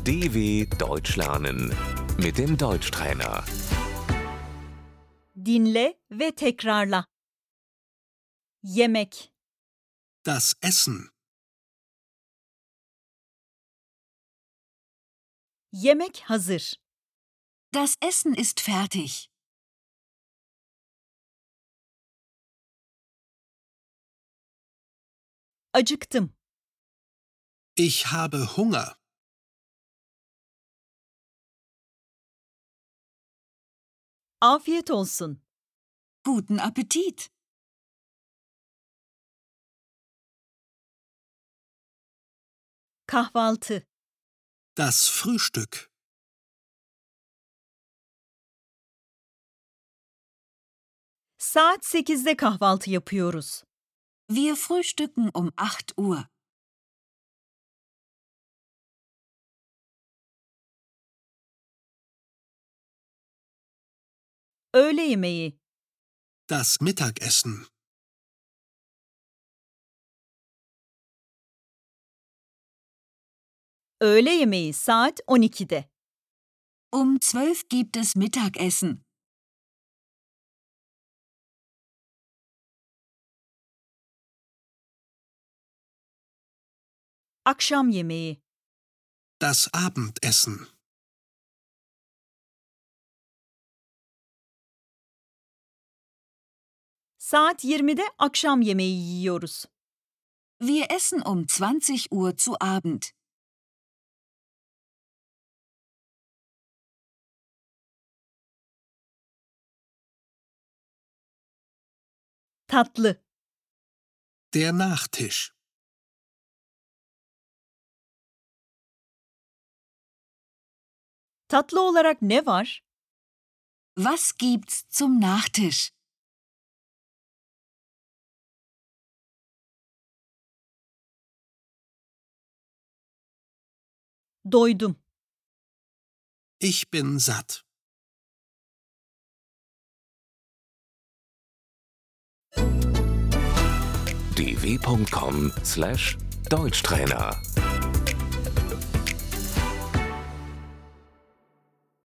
DW Deutsch lernen mit dem Deutschtrainer. Dinle ve tekrarla. Yemek, Das Essen. yemek hazır. Das Essen ist fertig. Acıktım. Ich habe Hunger. Afiyet olsun. Guten Appetit. Kahvaltı, Das Frühstück. saat 8'de kahvaltı yapıyoruz. Wir frühstücken um 8 Uhr. Öğle yemeği, Das Mittagessen. öğle yemeği saat 12'de. Um 12 gibt es Mittagessen. Akşam yemeği, Das Abendessen. saat 20'de akşam yemeği yiyoruz. Wir essen um 20 Uhr zu Abend. Tatlı, Der Nachtisch. tatlı olarak ne var? Was gibt's zum Nachtisch? Doydum. Ich bin satt. dw.com/Deutschtrainer